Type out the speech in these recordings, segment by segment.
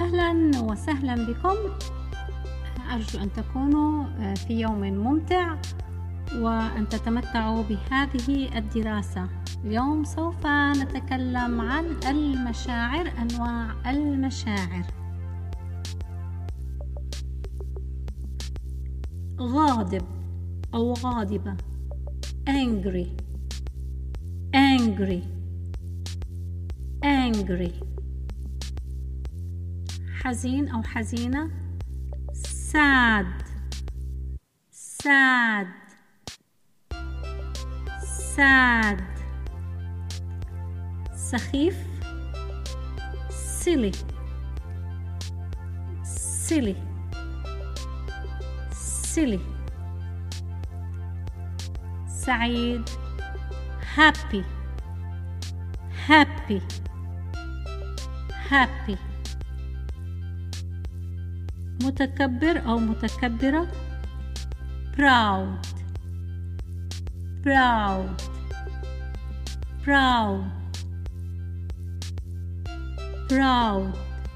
أهلا وسهلا بكم. أرجو أن تكونوا في يوم ممتع وأن تتمتعوا بهذه الدراسة. اليوم سوف نتكلم عن المشاعر، أنواع المشاعر. غاضب أو غاضبة angry angry angry. حزين أو حزينة sad sad sad. سخيف silly silly silly. سعيد happy happy happy. متكبر أو متكبرة proud proud proud proud.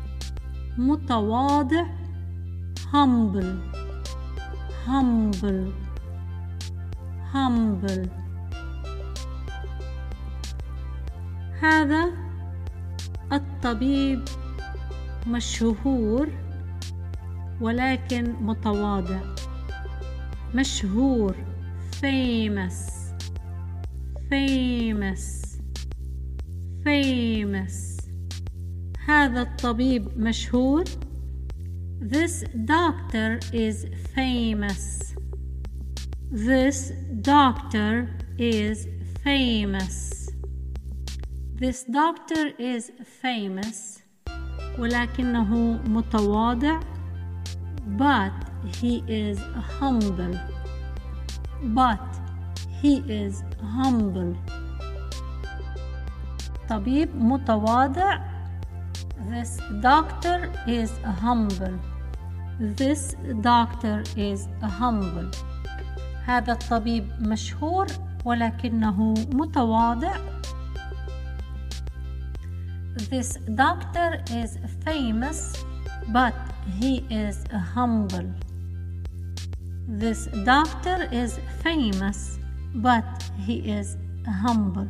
متواضع humble humble humble. هذا الطبيب مشهور ولكن متواضع. مشهور famous famous famous. هذا الطبيب مشهور. This doctor is famous. This doctor is famous. This doctor is famous ولكنه متواضع. But he is humble. But he is humble. طبيب متواضع. This doctor is humble. This doctor is humble. هذا الطبيب مشهور ولكنه متواضع. This doctor is famous, but he is humble. This doctor is famous, but he is humble.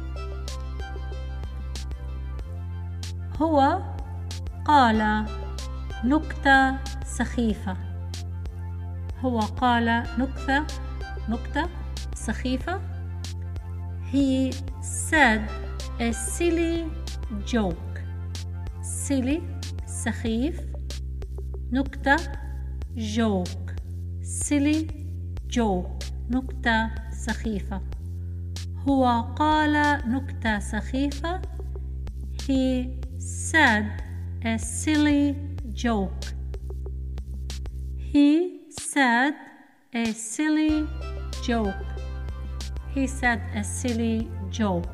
هو قال نكتة سخيفة. هو قال نكتة سخيفة. He said a silly joke. silly سخيف. نكتة joke silly joke نكتة سخيفة. هو قال نكتة سخيفة. He said a silly joke. He said a silly joke. He said a silly joke.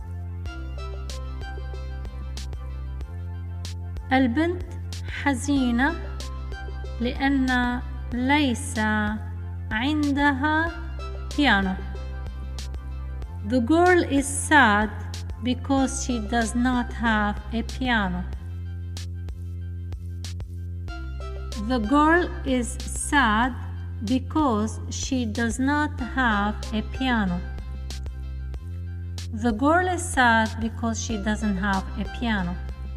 البنت حزينة لأن ليس عندها piano. The girl is sad because she does not have a piano. The girl is sad because she does not have a piano. The girl is sad because she doesn't have a piano.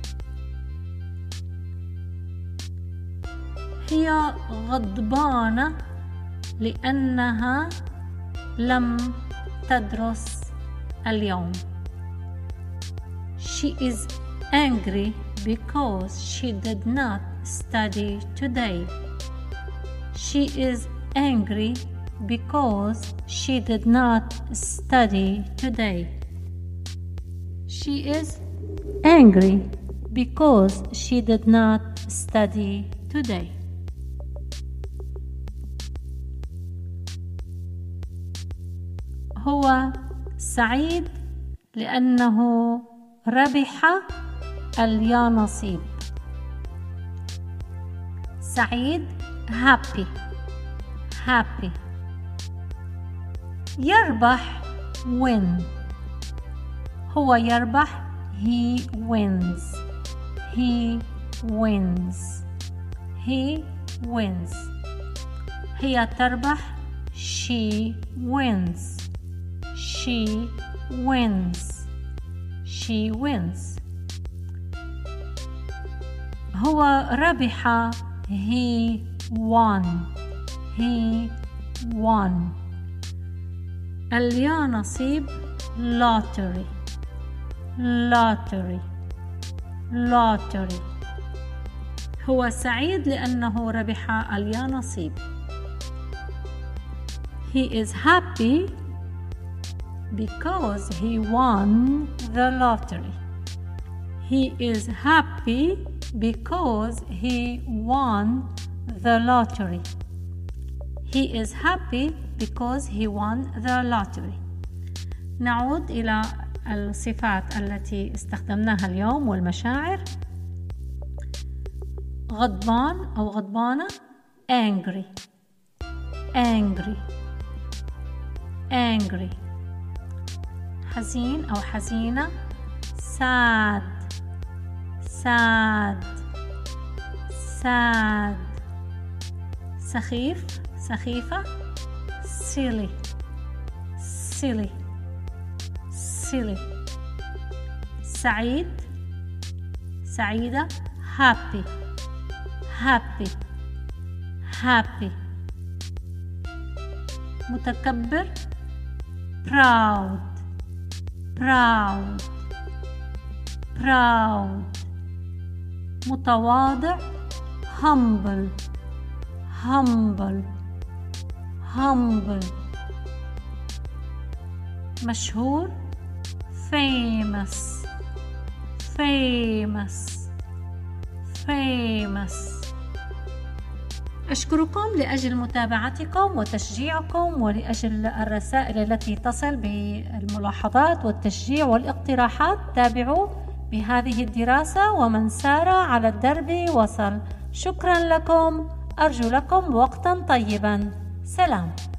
هي غضبانة لأنها لم تدرس اليوم. She is angry because she did not study today. She is angry because she did not study today. She is angry because she did not study today. هو سعيد لأنه ربح اليانصيب. سعيد happy happy. يربح win. هو يربح he wins. He wins. He wins. هي تربح. She wins. She wins. She wins. هو ربح. He won. He won. اليا نصيب. lottery. lottery. lottery. هو سعيد لأنه ربح اليا نصيب. He is happy because he won the lottery. He is happy because he won the lottery. He is happy because he won the lottery. نعود إلى الصفات التي استخدمناها اليوم والمشاعر. غضبان أو غضبانة. angry. angry. angry. حزين أو حزينة. sad. sad. sad. سخيف سخيفة. silly. silly. silly. سعيد سعيدة. happy. happy. happy. متكبر. proud. proud. proud. متواضع. humble. humble. humble. مشهور. famous. famous. famous. أشكركم لأجل متابعتكم وتشجيعكم ولأجل الرسائل التي تصل بالملاحظات والتشجيع والاقتراحات. تابعوا بهذه الدراسة ومن سار على الدرب وصل. شكرا لكم. أرجو لكم وقتا طيبا. سلام.